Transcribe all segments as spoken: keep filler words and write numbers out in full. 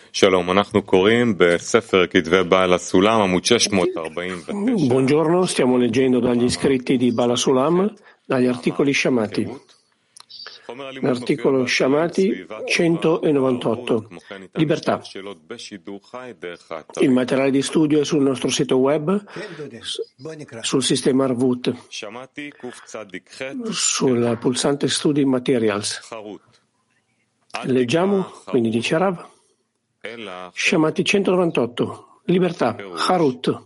Buongiorno, stiamo leggendo dagli scritti di Bala Sulam, dagli articoli Shamati. L'articolo Shamati centonovantotto. Libertà. Il materiale di studio è sul nostro sito web, sul sistema Arvut, sul pulsante Studi Materials. Leggiamo, quindi dice Rav, Shamati centonovantotto. Libertà. Harut.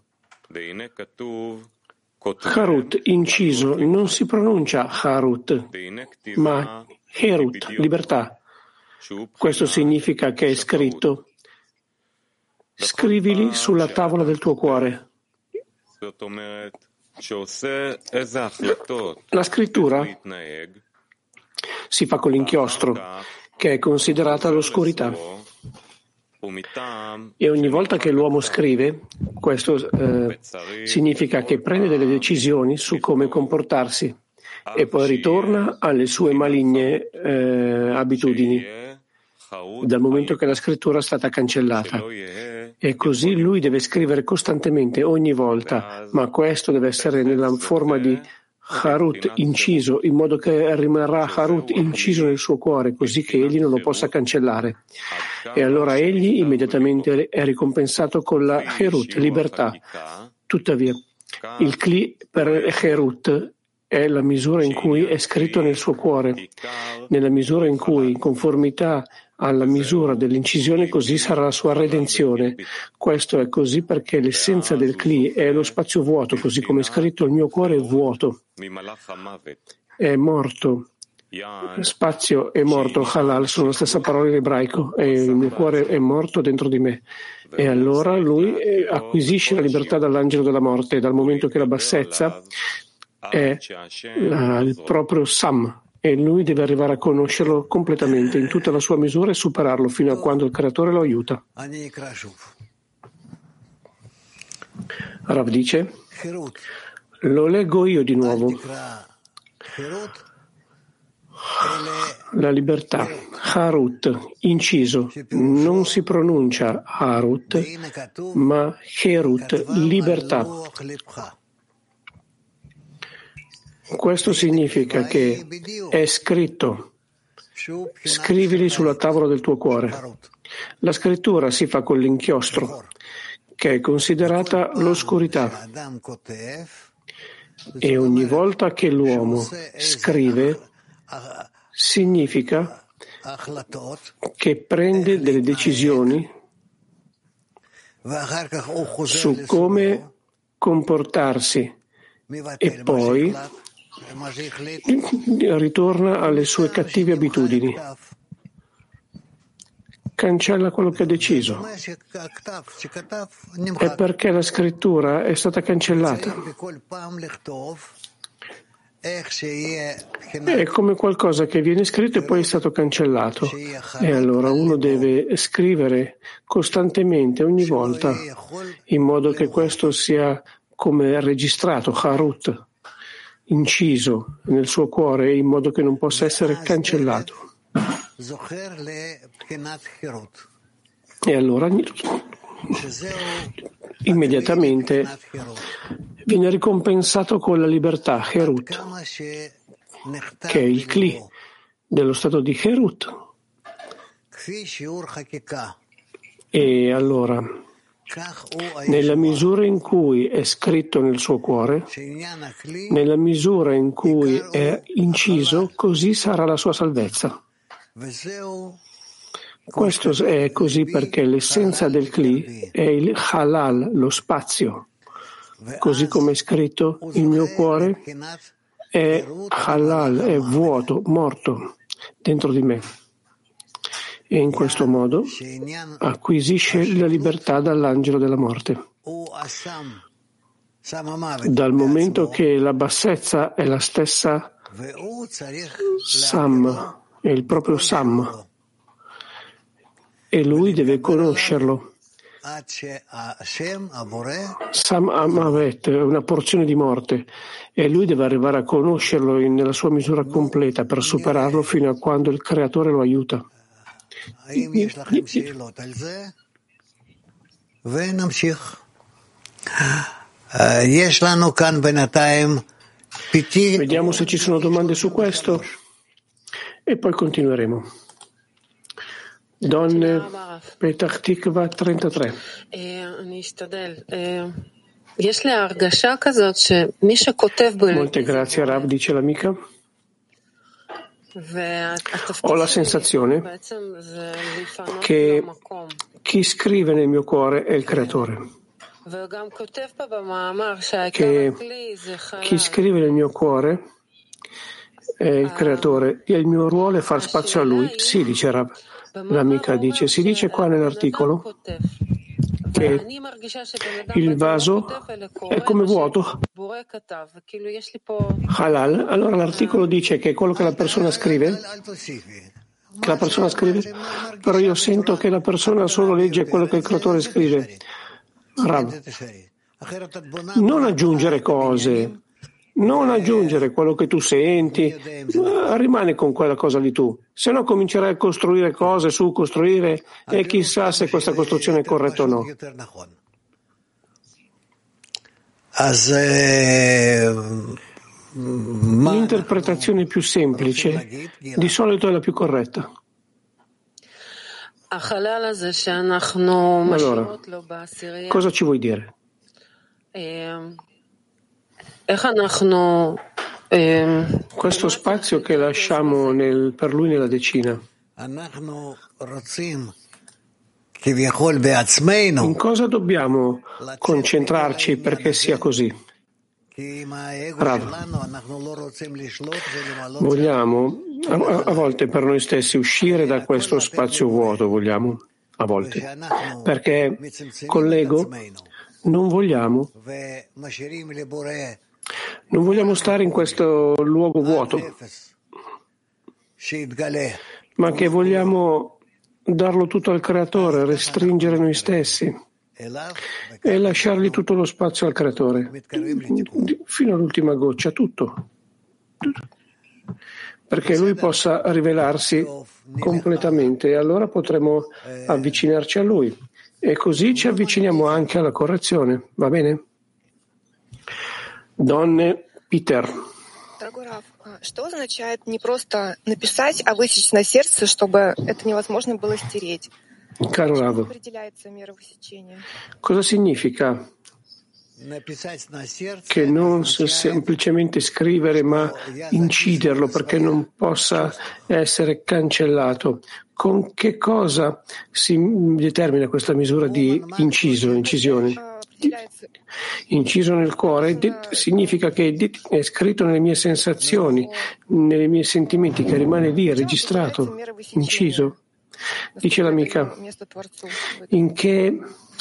Harut, inciso, non si pronuncia Harut, ma Herut, libertà. Questo significa che è scritto: scrivili sulla tavola del tuo cuore. La scrittura si fa con l'inchiostro, che è considerata l'oscurità. E ogni volta che l'uomo scrive, questo eh, significa che prende delle decisioni su come comportarsi e poi ritorna alle sue maligne eh, abitudini, dal momento che la scrittura è stata cancellata. E così lui deve scrivere costantemente ogni volta, ma questo deve essere nella forma di Harut, inciso, in modo che rimarrà Harut inciso nel suo cuore, così che egli non lo possa cancellare. E allora egli immediatamente è ricompensato con la Herut, libertà. Tuttavia, il Kli per Herut è la misura in cui è scritto nel suo cuore. Nella misura in cui, in conformità alla misura dell'incisione, così sarà la sua redenzione. Questo è così perché l'essenza del Kli è lo spazio vuoto, così come è scritto: il mio cuore è vuoto, è morto. Spazio e morto, halal, sono la stessa parola in ebraico, e il mio cuore è morto dentro di me. E allora lui acquisisce la libertà dall'angelo della morte, dal momento che la bassezza è la, il proprio Sam, e lui deve arrivare a conoscerlo completamente in tutta la sua misura e superarlo fino a quando il creatore lo aiuta. Rav dice, lo leggo io di nuovo. La libertà, Harut, inciso, non si pronuncia Harut, ma Herut, libertà. Questo significa che è scritto: scrivili sulla tavola del tuo cuore. La scrittura si fa con l'inchiostro, che è considerata l'oscurità. E ogni volta che l'uomo scrive, significa che prende delle decisioni su come comportarsi e poi ritorna alle sue cattive abitudini. Cancella quello che ha deciso. È perché la scrittura è stata cancellata. È come qualcosa che viene scritto e poi è stato cancellato. E allora uno deve scrivere costantemente, ogni volta, in modo che questo sia come registrato, Harut, inciso nel suo cuore, in modo che non possa essere cancellato. E allora immediatamente viene ricompensato con la libertà, Herut, che è il Kli dello stato di Herut. E allora, nella misura in cui è scritto nel suo cuore, nella misura in cui è inciso, così sarà la sua salvezza. Questo è così perché l'essenza del Kli è il halal, lo spazio. Così come è scritto, il mio cuore è halal, è vuoto, morto dentro di me. E in questo modo acquisisce la libertà dall'angelo della morte. Dal momento che la bassezza è la stessa Sam, è il proprio Sam, e lui deve conoscerlo. Sam Amavet è una porzione di morte e lui deve arrivare a conoscerlo nella sua misura completa per superarlo fino a quando il creatore lo aiuta. Vediamo se ci sono domande su questo e poi continueremo. Donne, Petach Tikva trentatré. Molte grazie, Rav, dice l'amica. Ho la sensazione che chi scrive nel mio cuore è il Creatore, che chi scrive nel mio cuore è il Creatore e il mio ruolo è far spazio a Lui. Sì, dice Rav. L'amica dice, si dice qua nell'articolo che il vaso è come vuoto, halal. Allora l'articolo dice che quello che la persona scrive, che la persona scrive, però io sento che la persona solo legge quello che il Creatore scrive. Rav, non aggiungere cose, non aggiungere quello che tu senti, rimani con quella cosa lì tu, se no comincerai a costruire cose su costruire e chissà se questa costruzione è corretta o no. L'interpretazione più semplice di solito è la più corretta. Allora, cosa ci vuoi dire? Questo spazio che lasciamo nel, per lui nella decina, in cosa dobbiamo concentrarci perché sia così? Rav, vogliamo a, a volte per noi stessi uscire da questo spazio vuoto, vogliamo a volte, perché con l'ego non vogliamo Non vogliamo stare in questo luogo vuoto, ma che vogliamo darlo tutto al Creatore, restringere noi stessi e lasciargli tutto lo spazio al Creatore, fino all'ultima goccia, tutto, perché Lui possa rivelarsi completamente e allora potremo avvicinarci a Lui e così ci avviciniamo anche alla correzione, va bene? Donne, Peter. Дорогой Рав, что означает не просто написать, а высечь на сердце, чтобы это невозможно было стереть? Caro Rav, cosa significa che non semplicemente scrivere ma inciderlo perché non possa essere cancellato? Con che cosa si determina questa misura di inciso, incisione? Inciso nel cuore significa che è scritto nelle mie sensazioni, nei miei sentimenti, che rimane lì, registrato, inciso. Dice l'amica, in che,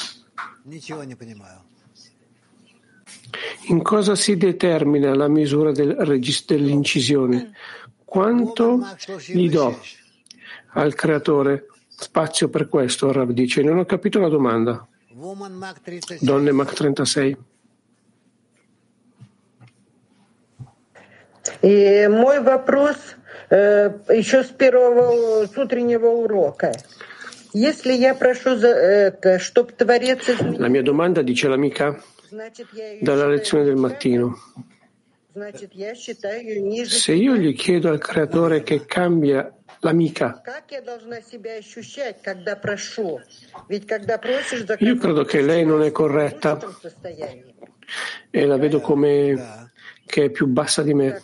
in cosa si determina la misura del registro dell'incisione? Quanto gli do al Creatore spazio per questo? Rav dice, non ho capito la domanda. Donne Mach trentasei. И мой вопрос э, еще с первого с утреннего урока. Если я прошу за это, чтобы Творец изменил... La mia domanda, dice l'amica, dalla lezione del mattino. Se io gli chiedo al Creatore che cambia l'amica, io credo che lei non è corretta e la vedo come che è più bassa di me.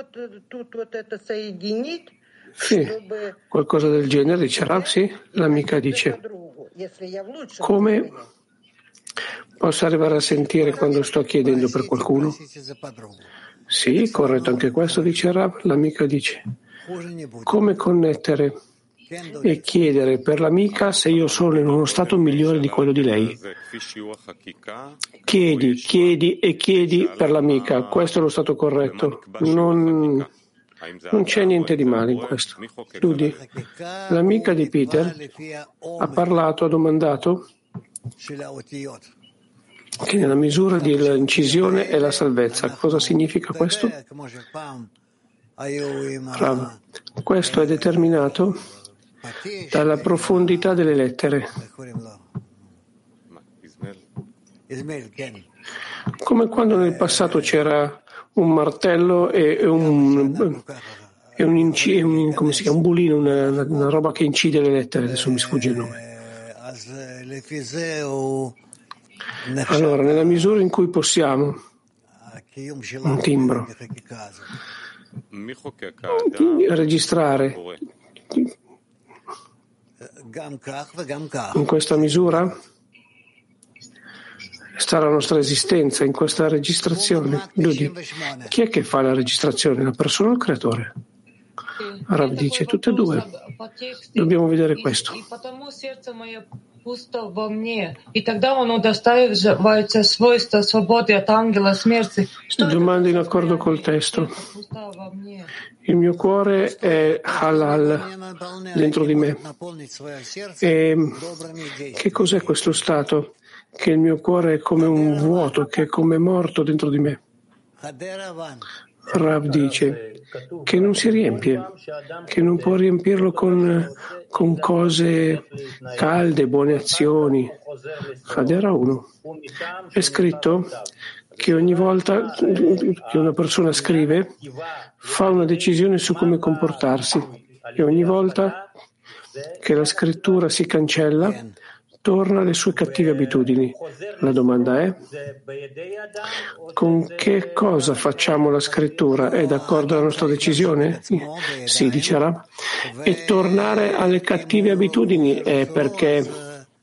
Sì, qualcosa del genere, dice Rav, sì. L'amica dice, come posso arrivare a sentire quando sto chiedendo per qualcuno? Sì, corretto anche questo, dice Rav. L'amica dice, come connettere e chiedere per l'amica se io sono in uno stato migliore di quello di lei? Chiedi, chiedi e chiedi per l'amica, questo è lo stato corretto. Non, non c'è niente di male in questo. Ludi, l'amica di Peter ha parlato, ha domandato che nella misura dell'incisione è la salvezza. Cosa significa questo? Rav, questo è determinato dalla profondità delle lettere. Come quando nel passato c'era un martello e un, e un, inci, un, come si chiama, un bulino, una, una roba che incide le lettere, adesso mi sfugge il nome. Allora, nella misura in cui possiamo, un timbro, registrare in questa misura sta la nostra esistenza, in questa registrazione. Lui, chi è che fa la registrazione, la persona o il creatore? Rav dice tutte e due. Dobbiamo vedere questo. Domando in accordo col testo. Il mio cuore è halal dentro di me. E che cos'è questo stato? Che il mio cuore è come un vuoto, che è come morto dentro di me. Rav dice che non si riempie, che non può riempirlo con, con cose calde, buone azioni. Hadera uno. È scritto che ogni volta che una persona scrive fa una decisione su come comportarsi e ogni volta che la scrittura si cancella torna alle sue cattive abitudini. La domanda è: con che cosa facciamo la scrittura? È d'accordo alla nostra decisione? Sì, dice Rav. E tornare alle cattive abitudini è perché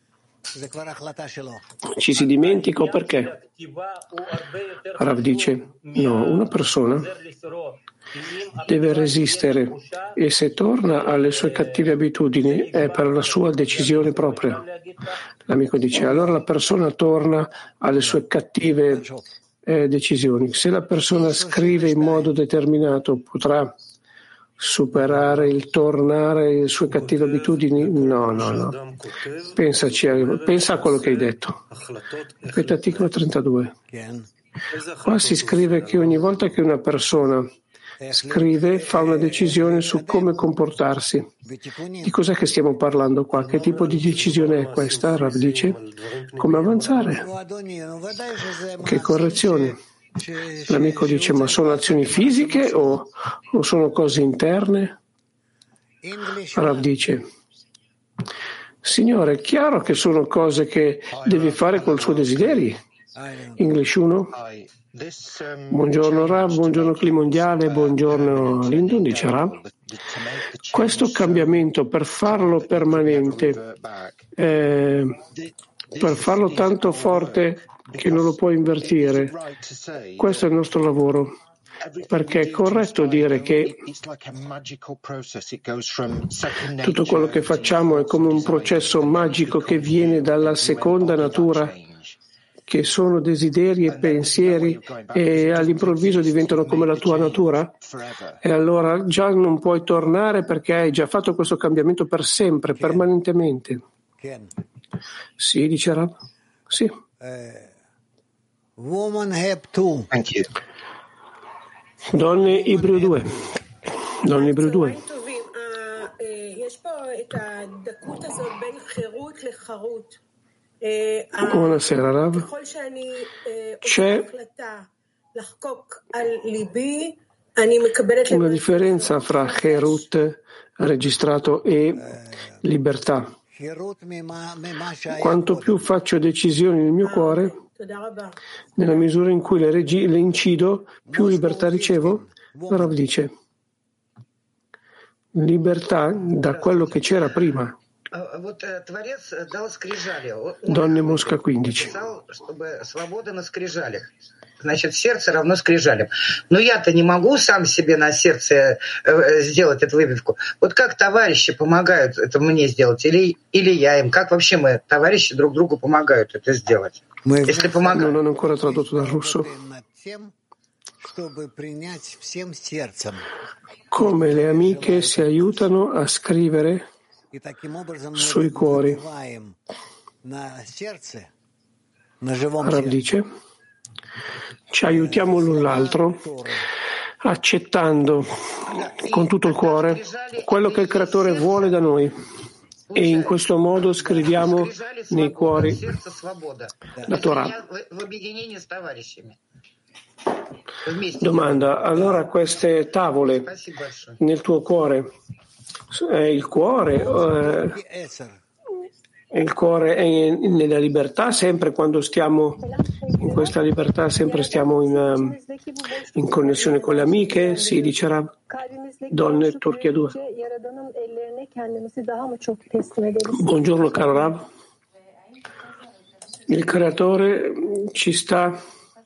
ci si dimentica o perché? Rav dice: no, una persona deve resistere e se torna alle sue cattive abitudini è per la sua decisione propria. L'amico dice: allora la persona torna alle sue cattive eh, decisioni. Se la persona scrive in modo determinato, potrà superare il tornare alle sue cattive abitudini? No, no, no. Pensaci, pensa a quello che hai detto. Ripeto, articolo trentadue. Qua si scrive che ogni volta che una persona scrive, fa una decisione su come comportarsi. Di cos'è che stiamo parlando qua? Che tipo di decisione è questa? Rav dice: come avanzare? Che correzione? L'amico dice: ma sono azioni fisiche o, o sono cose interne? Rav dice: Signore, è chiaro che sono cose che devi fare col suo desideri. English uno. Buongiorno Rav, buongiorno Cli Mondiale, buongiorno Lindon, dice Rav. Questo cambiamento, per farlo permanente, eh, per farlo tanto forte che non lo puoi invertire, questo è il nostro lavoro. Perché è corretto dire che tutto quello che facciamo è come un processo magico che viene dalla seconda natura, che sono desideri e pensieri e all'improvviso diventano come la tua natura? E allora già non puoi tornare perché hai già fatto questo cambiamento per sempre, permanentemente. Sì, dice Rav. Sì. Donne Ibreo due. Donne Ibreo due. Buonasera Rav. C'è una differenza fra Herut registrato e libertà. Quanto più faccio decisioni nel mio cuore, nella misura in cui le, regi- le incido, più libertà ricevo. Rav dice: libertà da quello che c'era prima. Donne Mosca quindici. Значит, сердце равно скрижалям. Но я-то не могу сам себе на сердце сделать эту выбивку. Вот как товарищи помогают это мне сделать? Или, или я им? Как вообще мы, товарищи, друг другу помогают это сделать? Если помогают... Non ho ancora tradotto dal russo. Come le amiche si aiutano a scrivere sui cuori. Rav dice: ci aiutiamo l'un l'altro accettando con tutto il cuore quello che il Creatore vuole da noi. E in questo modo scriviamo nei cuori la Torah. Domanda, allora queste tavole nel tuo cuore, è il cuore, eh, il cuore è nella libertà sempre quando stiamo in questa libertà, sempre stiamo in, in connessione con le amiche, si dicerà Donne Turchia due. Buongiorno caro Rav, il Creatore ci sta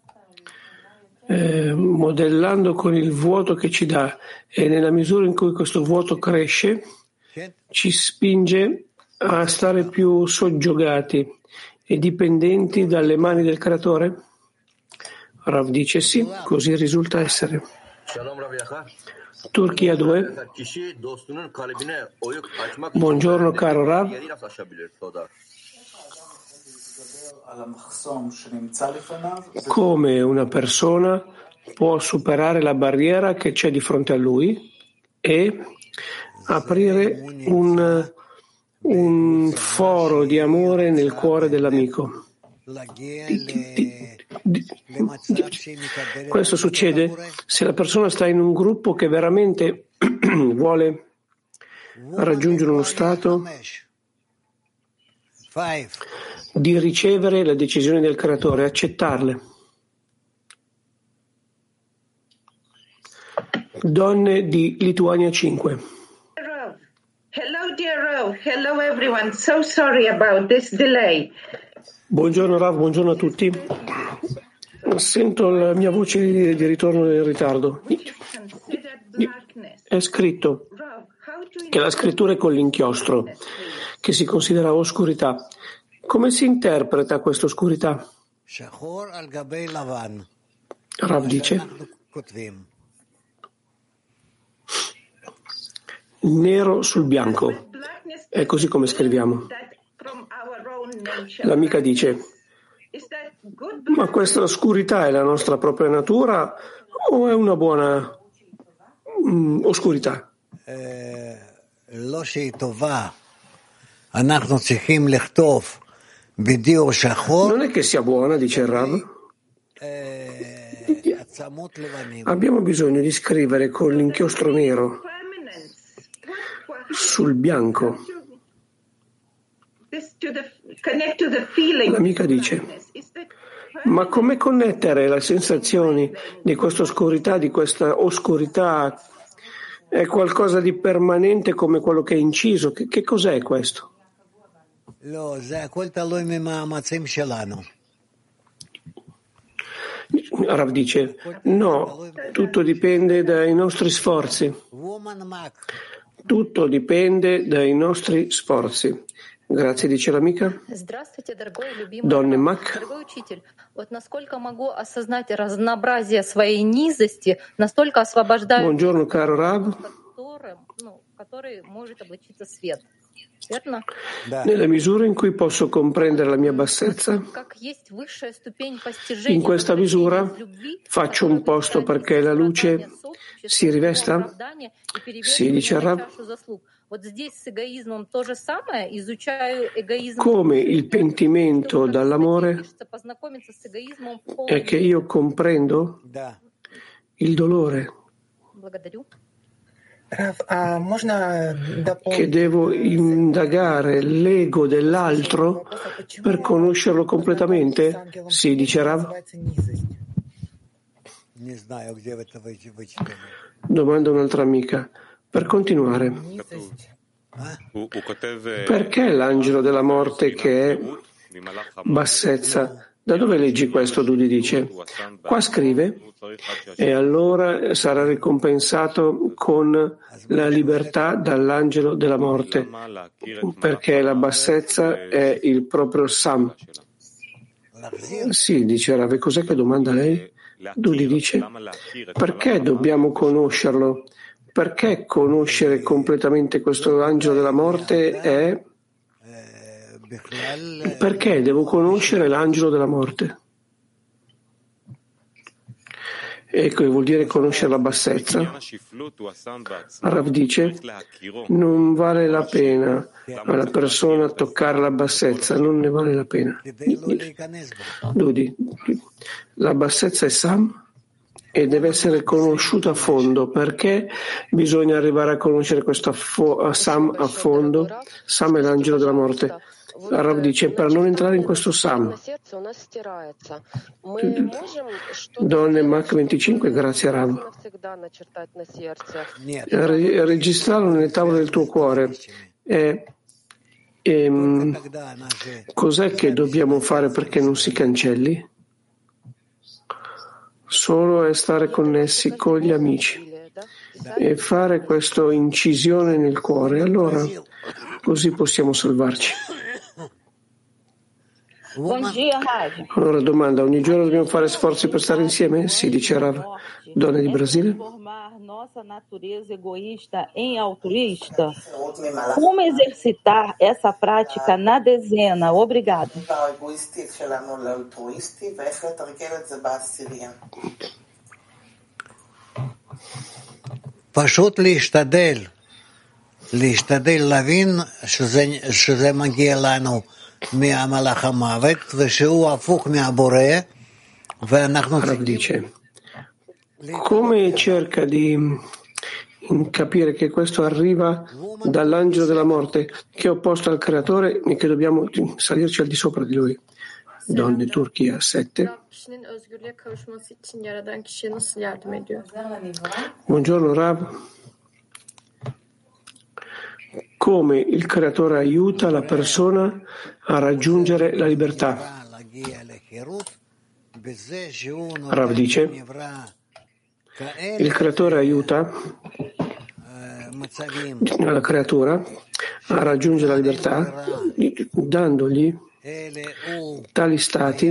eh, modellando con il vuoto che ci dà e nella misura in cui questo vuoto cresce ci spinge a stare più soggiogati e dipendenti dalle mani del Creatore? Rav dice sì, così risulta essere. Turchia due. Buongiorno caro Rav. Come una persona può superare la barriera che c'è di fronte a lui e aprire un, un foro di amore nel cuore dell'amico? Di, di, di, di, questo succede se la persona sta in un gruppo che veramente vuole raggiungere uno stato di ricevere le decisioni del Creatore, accettarle. Donne di Lituania cinque. Hello dear Rav, hello everyone, so sorry about this delay. Buongiorno Rav, buongiorno a tutti. Sento la mia voce di, di ritorno in ritardo. È scritto che la scrittura è con l'inchiostro, che si considera oscurità. Come si interpreta questa oscurità? Rav dice: nero sul bianco. È così come scriviamo. L'amica dice: ma questa oscurità è la nostra propria natura o è una buona mm, oscurità? Non è che sia buona, dice il Rav. Abbiamo bisogno di scrivere con l'inchiostro nero sul bianco. L'amica dice: ma come connettere le sensazioni di questa oscurità, di questa oscurità? È qualcosa di permanente come quello che è inciso? Che, che cos'è questo? Rav dice: no, tutto dipende dai nostri sforzi. Tutto dipende dai nostri sforzi. Grazie, dice l'amica. Donne Mac. Buongiorno caro Rav. Nella misura in cui posso comprendere la mia bassezza, in questa misura faccio un posto perché la luce si rivesta? Sì, dice Rav. Come il pentimento dall'amore è che io comprendo il dolore, che devo indagare l'ego dell'altro per conoscerlo completamente? Sì, dice Rav. Domanda un'altra amica. Per continuare, perché l'angelo della morte che è bassezza? Da dove leggi questo? Dudi dice. Qua scrive, e allora sarà ricompensato con la libertà dall'angelo della morte, perché la bassezza è il proprio Sam. Sì, dice Rav, cos'è che domanda lei? Dudi dice, perché dobbiamo conoscerlo? Perché conoscere completamente questo angelo della morte è... Perché devo conoscere l'angelo della morte? Ecco, vuol dire conoscere la bassezza. Rav dice, non vale la pena alla persona toccare la bassezza, non ne vale la pena. Dudi, la bassezza è Sam e deve essere conosciuta a fondo. Perché bisogna arrivare a conoscere questo a Sam a fondo? Sam è l'angelo della morte. Rav dice, per non entrare in questo Sam. Donne Mach venticinque, grazie Rav. Registrarlo nelle tavole del tuo cuore. E, e, cos'è che dobbiamo fare perché non si cancelli? Solo è stare connessi con gli amici e fare questa incisione nel cuore. Allora, così possiamo salvarci. Allora domanda, ogni giorno dobbiamo fare sforzi per stare insieme? Sì, dice Rav. Donne di Brasile. Nossa natureza egoísta em altruísta? Como exercitar essa prática na dezena? Obrigado. פשוט להשתדל, להשתדל להבין שזה, שזה מגיע לנו מהמלאך המוות ושהוא הפוך מהבורא ואנחנו dice come cerca di capire che questo arriva dall'angelo della morte che è opposto al creatore e che dobbiamo salirci al di sopra di lui. Donne Turchia sette. Buongiorno Rav. Come il creatore aiuta la persona a raggiungere la libertà? Rav dice, il creatore aiuta la creatura a raggiungere la libertà dandogli tali stati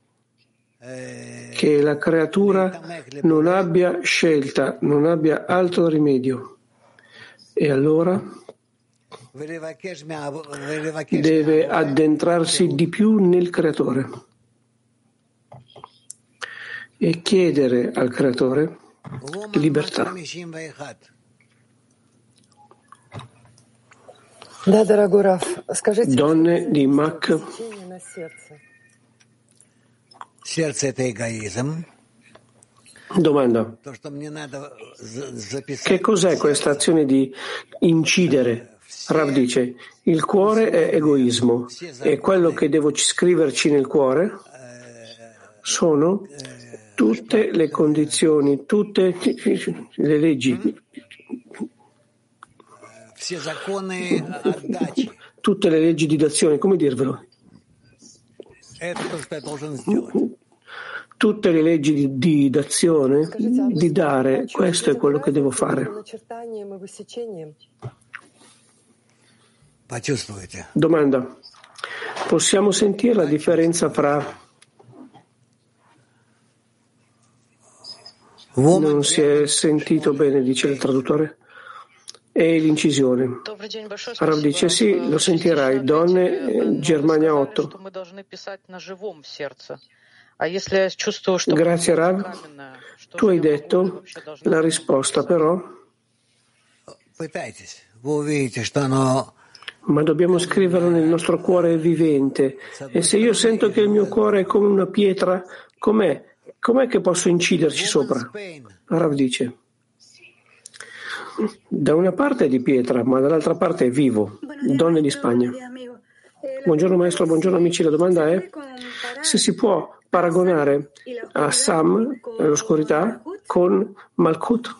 che la creatura non abbia scelta, non abbia altro rimedio. E allora deve addentrarsi di più nel creatore e chiedere al creatore libertà. Donne di Mach. Domanda. Che cos'è questa azione di incidere? Rav dice, il cuore è egoismo e quello che devo scriverci nel cuore sono tutte le condizioni, tutte le leggi, tutte le leggi di dazione, come dirvelo? Tutte le leggi di, di dazione, di dare, questo è quello che devo fare. Domanda, possiamo sentire la differenza fra non si è sentito bene, dice il traduttore, e l'incisione? Rav dice sì, lo sentirai. Donne, Germania otto. Grazie Rav, tu hai detto la risposta, però ma dobbiamo scriverlo nel nostro cuore vivente, e se io sento che il mio cuore è come una pietra, com'è? Com'è che posso inciderci sopra? Rav dice, da una parte è di pietra, ma dall'altra parte è vivo. Donne di Spagna. Buongiorno maestro, buongiorno amici, la domanda è se si può paragonare a Sam, l'oscurità, con Malkut.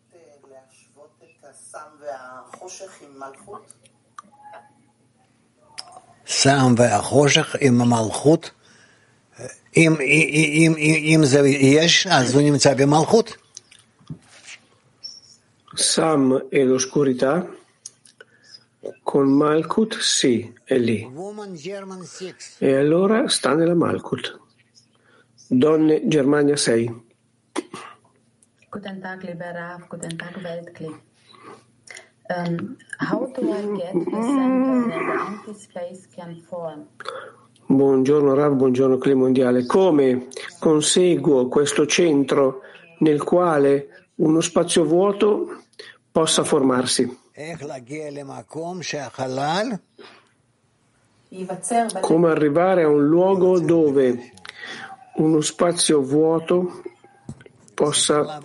Sam והחושך עם המלכות, אם, אם, אם זה יש, אז הוא נמצא במלכות. Sam e l'oscurità con Malkut, sì, è lì. E allora sta nella Malkut. Donne, Germania sei. Guten Tag, lieber Rav. Guten Tag, Weltkli. Um, how do I get the center that the empty space can form? Buongiorno Rav, buongiorno Cli Mondiale. Come conseguo questo centro nel quale uno spazio vuoto possa formarsi. Come arrivare a un luogo dove uno spazio vuoto possa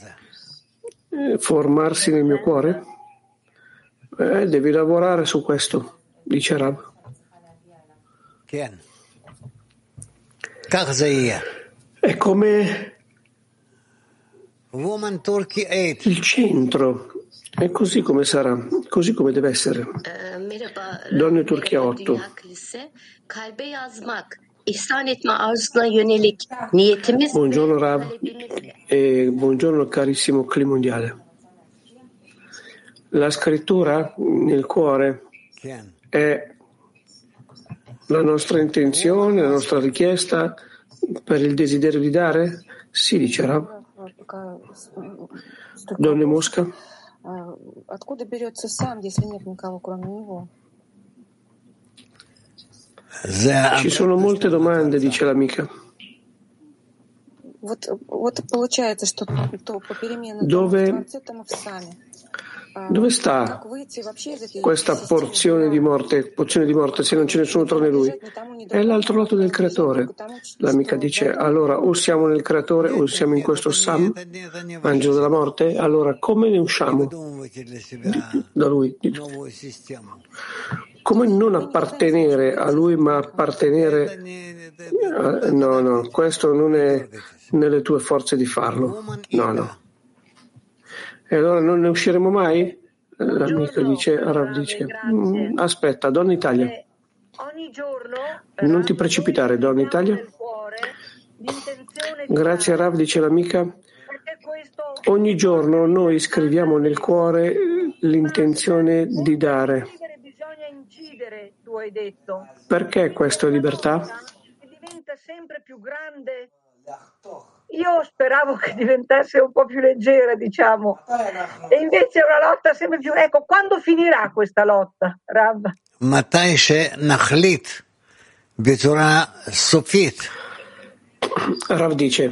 formarsi nel mio cuore? Eh, devi lavorare su questo, dice Rav. È come il centro, è così come sarà, così come deve essere. Donne Turchia otto. Buongiorno Rav e buongiorno carissimo Cli Mondiale. La scrittura nel cuore è la nostra intenzione, la nostra richiesta per il desiderio di dare? Sì, dice Rav. Donne Mosca. Ci sono molte domande, dice l'amica. Dove, dove sta questa porzione di morte, porzione di morte se non c'è nessuno tranne lui? È l'altro lato del creatore. L'amica dice, allora o siamo nel creatore o siamo in questo Sam, angelo della morte, allora come ne usciamo da lui? Come non appartenere a lui ma appartenere a... no, no, questo non è nelle tue forze di farlo, no, no. E allora non ne usciremo mai? L'amico dice, Rav dice, mm, aspetta, Donna Italia, non ti precipitare, Donna Italia. Grazie Rav, dice l'amica, ogni giorno noi scriviamo nel cuore l'intenzione di dare. Perché questo è libertà? Diventa sempre più grande. Io speravo che diventasse un po' più leggera, diciamo, e invece è una lotta sempre più. Ecco, quando finirà questa lotta, Rav? Rav dice,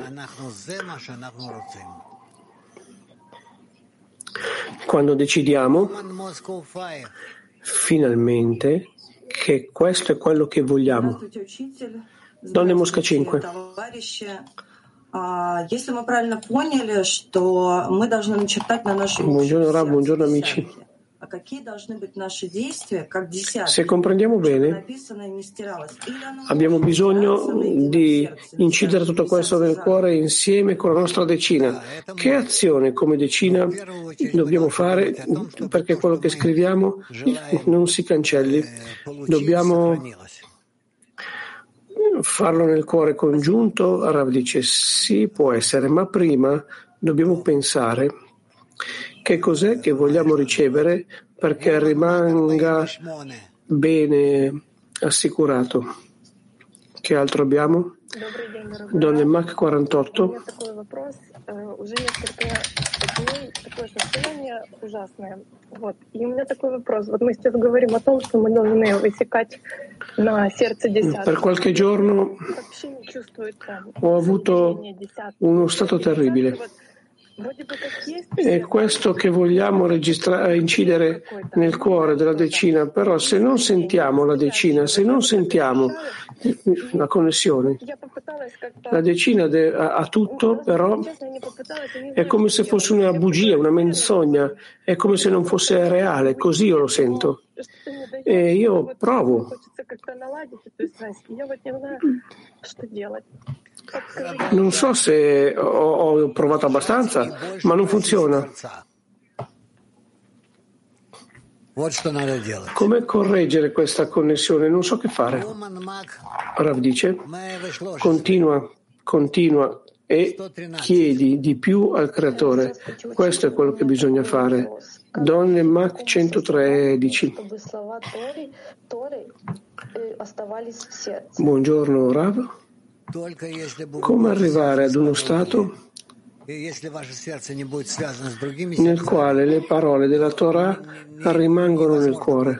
quando decidiamo finalmente che questo è quello che vogliamo. Donne Mosca cinque. Buongiorno Rav, buongiorno amici. Se comprendiamo bene, abbiamo bisogno di incidere tutto questo nel cuore insieme con la nostra decina. Che azione come decina dobbiamo fare perché quello che scriviamo non si cancelli? Dobbiamo farlo nel cuore congiunto? Rav dice sì, può essere, ma prima dobbiamo pensare che cos'è che vogliamo ricevere perché rimanga bene assicurato. Che altro abbiamo? Donne Mac quarantotto. Уже несколько дней такое состояние ужасное. Вот. И у меня такой вопрос. Вот мы сейчас говорим о том, что мы должны высекать на сердце десятку. Per qualche giorno ho avuto uno stato terribile. È questo che vogliamo registrare, incidere nel cuore della decina, però se non sentiamo la decina, se non sentiamo la connessione, la decina ha tutto, però è come se fosse una bugia, una menzogna, è come se non fosse reale, così io lo sento. E io provo. Non so se ho, ho provato abbastanza, ma non funziona. Come correggere questa connessione? Non so che fare. Rav dice, continua, continua e chiedi di più al creatore. Questo è quello che bisogna fare. Donne Mac centotredici. Buongiorno Rav. Come arrivare ad uno stato nel quale le parole della Torah rimangono nel cuore?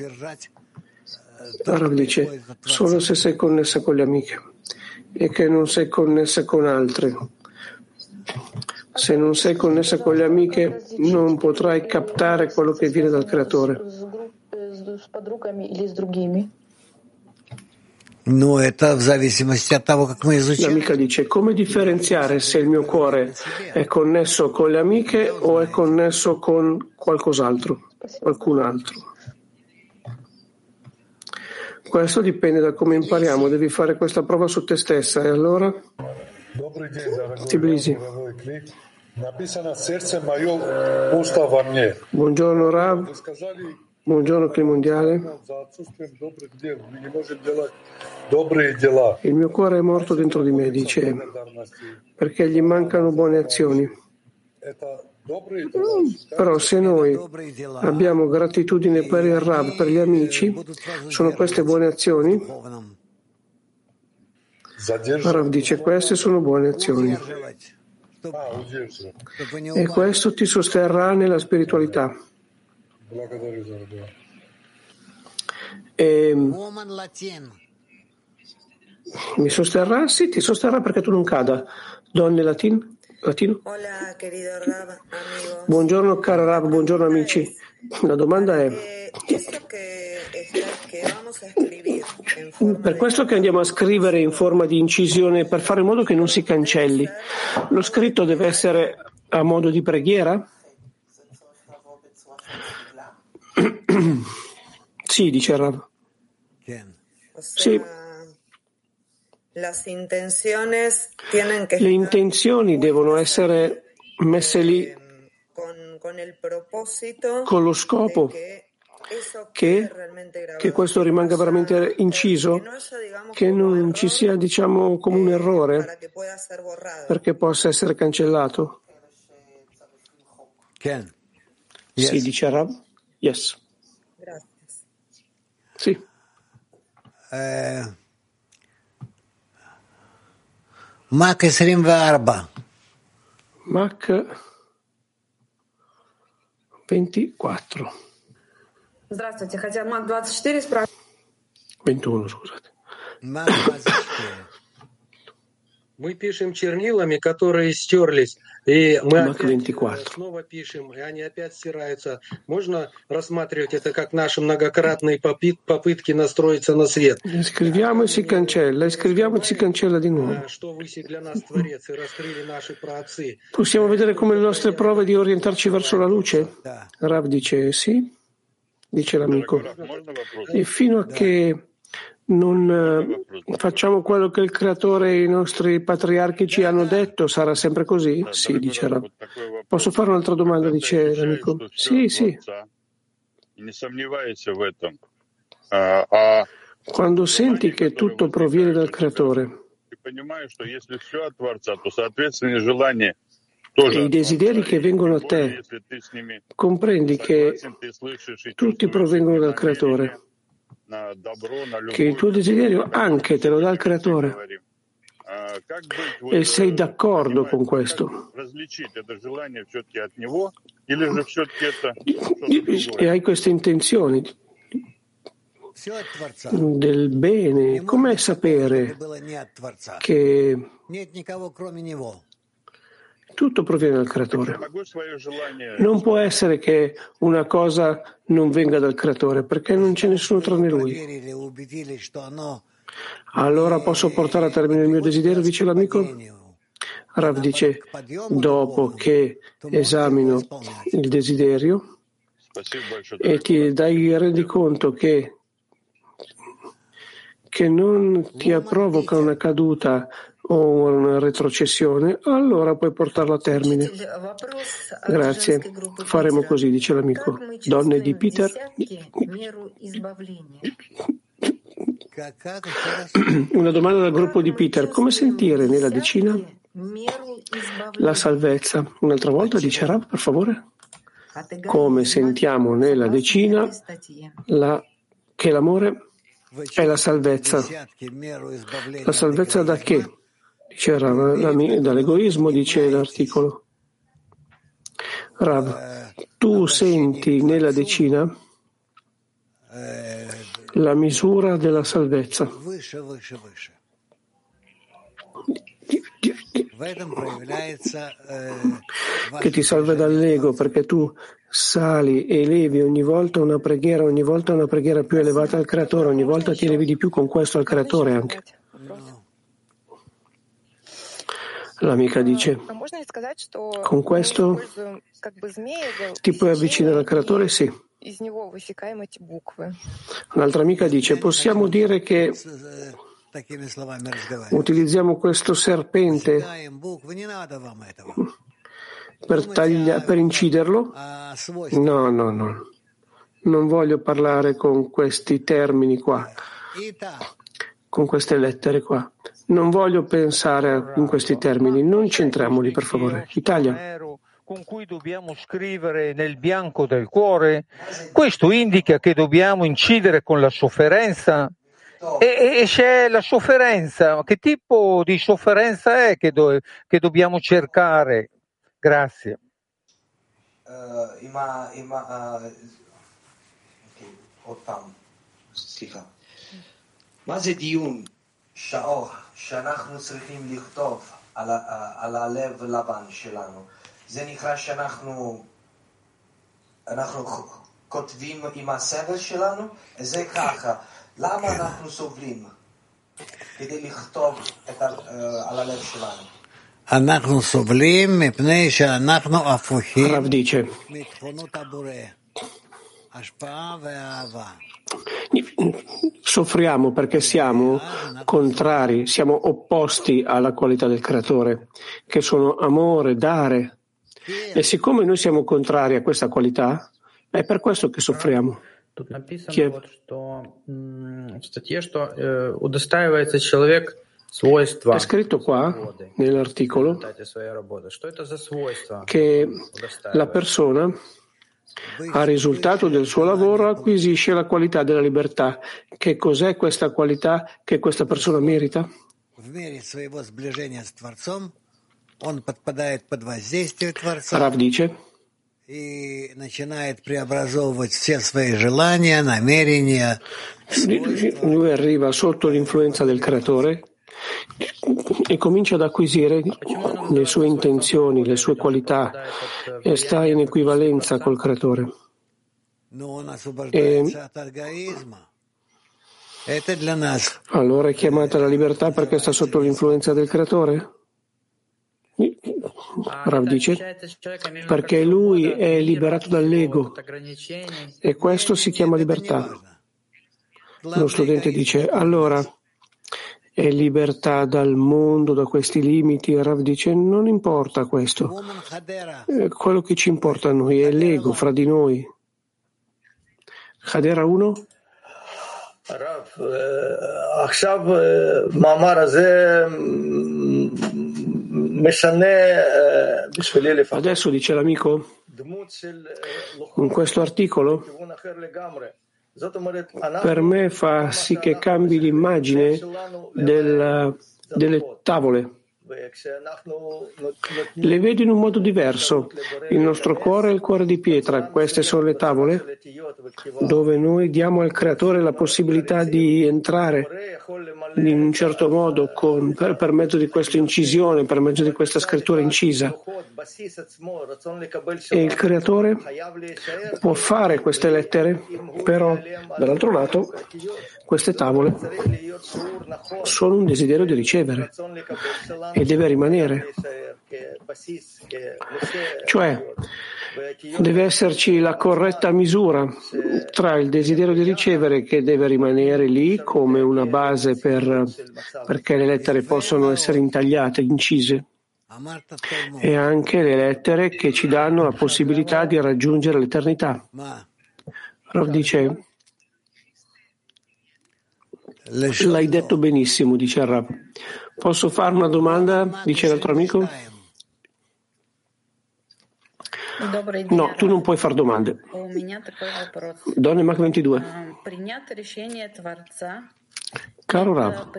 Rav dice, solo se sei connessa con le amiche e che non sei connessa con altre. Se non sei connessa con le amiche, non potrai captare quello che viene dal Creatore. L'amica dice: come differenziare se il mio cuore è connesso con le amiche o è connesso con qualcos'altro, qualcun altro? Questo dipende da come impariamo. Devi fare questa prova su te stessa. E allora? Tbilisi. Buongiorno Rav. Buongiorno Cli Mondiale. Il mio cuore è morto dentro di me, dice, perché gli mancano buone azioni. Però se noi abbiamo gratitudine per il Rav, per gli amici, sono queste buone azioni? Rav dice: queste sono buone azioni. E questo ti sosterrà nella spiritualità. E mi sosterrà? Sì, ti sosterrà perché tu non cada. Donne latin? Latino? Buongiorno caro Rav, buongiorno amici. La domanda è: per questo che andiamo a scrivere in forma di incisione, per fare in modo che non si cancelli, lo scritto deve essere a modo di preghiera? Sì, dice Rav. Sì. Le intenzioni devono essere messe lì con lo scopo che, che questo rimanga veramente inciso, che non ci sia, diciamo, come un errore, perché possa essere cancellato. Yes. Sì, dice Rav. Yes. Sì. Eh... Mac ventiquattro. Mac ventiquattro. Здравствуйте, хотя Мак двадцать четыре спрашивает. ventuno, scusate. Mac двадцать четыре. Мы пишем чернилами, которые стерлись, и мы Mac опять ventiquattro. снова пишем, и они опять стираются. Можно рассматривать это как наши многократные попытки настроиться на свет? Scriviamo e si cancella, e scriviamo e si cancella di nuovo. Что высек для нас Творец, и раскрыли наши праотцы. Possiamo vedere come le nostre prove di orientarci verso la luce? Rav dice sì, dice l'amico. E fino a che non eh, facciamo quello che il Creatore e i nostri patriarchi ci hanno detto, sarà sempre così? Sì, dice Rav. Posso fare un'altra domanda, dice l'amico? Sì, sì. Quando senti che tutto proviene dal Creatore e i desideri che vengono a te, comprendi che tutti provengono dal Creatore, che il tuo desiderio anche te lo dà il Creatore, e sei d'accordo con questo e hai queste intenzioni del bene, com'è sapere che tutto proviene dal Creatore? Non può essere che una cosa non venga dal Creatore, perché non c'è nessuno tranne Lui. Allora posso portare a termine il mio desiderio, dice l'amico? Rav dice: dopo che esamino il desiderio e ti dai rendi conto che che non ti provoca una caduta o una retrocessione, allora puoi portarlo a termine. Grazie. Faremo così, dice l'amico. Donne di Peter. Una domanda dal gruppo di Peter. Come sentire nella decina la salvezza? Un'altra volta, dice Rav, per favore. Come sentiamo nella decina la, che l'amore è la salvezza. La salvezza da che? Dice Rav, dall'egoismo, dice l'articolo. Rav, tu senti nella decina la misura della salvezza. che ti salva dall'ego, perché tu sali e elevi ogni volta una preghiera, ogni volta una preghiera più elevata al Creatore, ogni volta ti elevi di più con questo al Creatore anche. L'amica dice, con questo ti puoi avvicinare al Creatore? Sì. Un'altra amica dice, possiamo dire che utilizziamo questo serpente per, taglia, per inciderlo? No, no, no. Non voglio parlare con questi termini qua, con queste lettere qua. Non voglio pensare in questi termini. Non centriamoli, per favore. Italia. Con cui dobbiamo scrivere nel bianco del cuore, questo indica che dobbiamo incidere con la sofferenza. E, e c'è la sofferenza, che tipo di sofferenza è che, do, che dobbiamo cercare? Grazie. Uh, ima, ima, uh, okay. Otam. סליחה. מה זה דיון? שעות שאנחנו צריכים לכתוב על, על הלב לבן שלנו. זה נקרא שאנחנו אנחנו כותבים עם הסבל שלנו, זה ככה. למה אנחנו סובלים? כדי לכתוב את, על הלב שלנו. אנחנו סובלים מפני שאנחנו הפוכים מתכונות הבורא, השפעה ואהבה. Soffriamo perché siamo contrari, siamo opposti alla qualità del Creatore, che sono amore, dare. E siccome noi siamo contrari a questa qualità, è per questo che soffriamo. Тут написано, вот, что в статье, что э, удостаивается человек свойства. È scritto qua, nell'articolo, che la persona, a risultato del suo lavoro, acquisisce la qualità della libertà. Che cos'è questa qualità che questa persona merita? Rav dice, lui arriva sotto l'influenza del Creatore e comincia ad acquisire le sue intenzioni, le sue qualità e sta in equivalenza col Creatore. E allora è chiamata la libertà perché sta sotto l'influenza del Creatore? Rav dice, perché lui è liberato dall'ego e questo si chiama libertà. Lo studente dice, allora è libertà dal mondo, da questi limiti. Rav dice, non importa questo. Quello che ci importa a noi è l'ego fra di noi. Hadera uno? Adesso, dice l'amico, in questo articolo, per me fa sì che cambi l'immagine del, delle tavole. Le vedo in un modo diverso. Il nostro cuore è il cuore di pietra. Queste sono le tavole dove noi diamo al Creatore la possibilità di entrare in un certo modo con, per, per mezzo di questa incisione, per mezzo di questa scrittura incisa. E il Creatore può fare queste lettere, però dall'altro lato queste tavole sono un desiderio di ricevere e deve rimanere. Cioè, deve esserci la corretta misura tra il desiderio di ricevere, che deve rimanere lì come una base per, perché le lettere possono essere intagliate, incise, e anche le lettere che ci danno la possibilità di raggiungere l'eternità. Rav dice, l'hai detto benissimo, dice Rav. Posso fare una domanda? Dice l'altro amico. No, tu non puoi fare domande. Donne Mach ventidue. Caro Rav,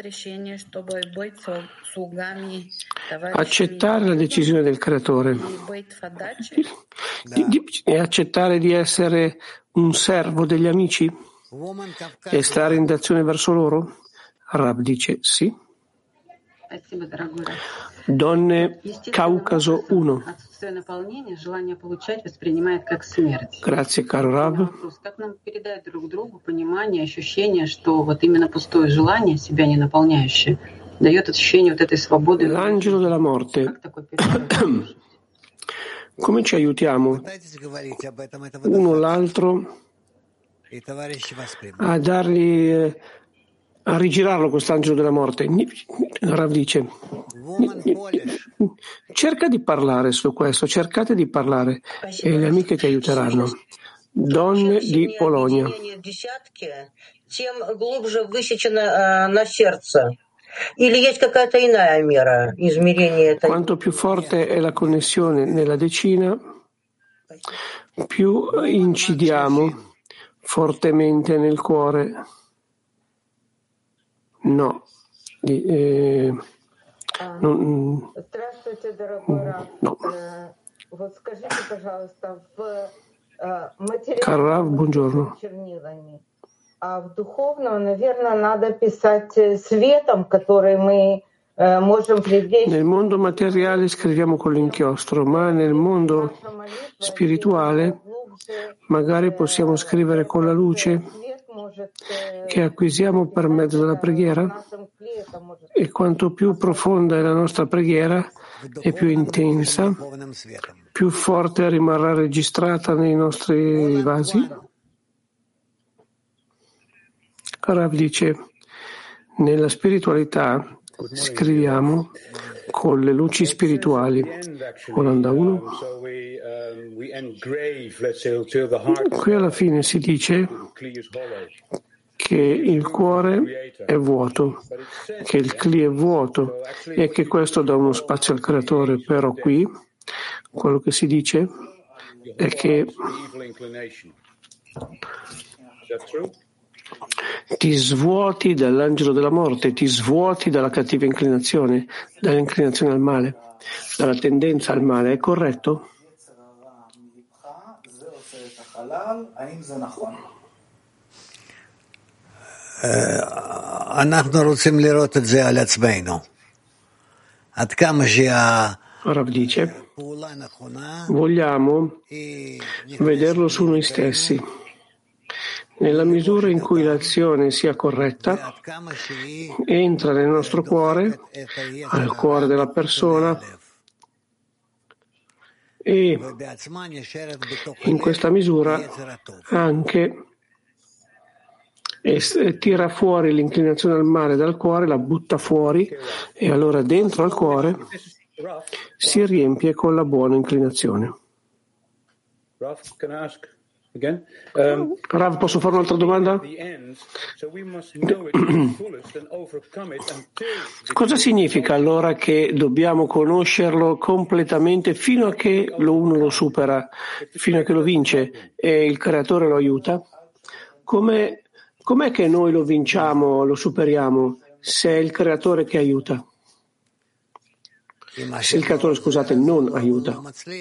accettare la decisione del Creatore di, di, e accettare di essere un servo degli amici e stare in azione verso loro? Rav dice sì. Donne Caucaso uno. Grazie, caro Rav. L'angelo della morte. Come ci aiutiamo uno l'altro a dargli, a rigirarlo quest'angelo della morte? Rav dice, cerca di parlare su questo, cercate di parlare e le amiche ti aiuteranno. Donne di Polonia. Quanto più forte è la connessione nella decina, più incidiamo fortemente nel cuore. No. Eh, non, no. Caro Rav, buongiorno. А в духовном, наверное, надо писать светом, который мы можем привлечь. Nel mondo materiale scriviamo con l'inchiostro, ma nel mondo spirituale magari possiamo scrivere con la luce che acquisiamo per mezzo della preghiera. E quanto più profonda è la nostra preghiera e più intensa, più forte rimarrà registrata nei nostri vasi. Rav dice, nella spiritualità scriviamo con le luci spirituali. Olanda uno. Qui alla fine si dice che il cuore è vuoto, che il cli è vuoto e che questo dà uno spazio al creatore, però qui quello che si dice è che ti svuoti dall'angelo della morte, ti svuoti dalla cattiva inclinazione, dall'inclinazione al male, dalla tendenza al male, è corretto? אנחנו רוצים לראות את זה על עצמנו. עד כמה Rav dice, vogliamo vederlo su noi stessi. Nella misura in cui l'azione sia corretta, entra nel nostro cuore, al cuore della persona, e in questa misura anche e tira fuori l'inclinazione al male dal cuore, la butta fuori, e allora dentro al cuore si riempie con la buona inclinazione. Um, Rav, posso fare un'altra domanda? Cosa significa allora che dobbiamo conoscerlo completamente fino a che lo uno lo supera, fino a che lo vince e il creatore lo aiuta? Come, com'è che noi lo vinciamo, lo superiamo, se è il creatore che aiuta? Se il creatore, scusate, non aiuta.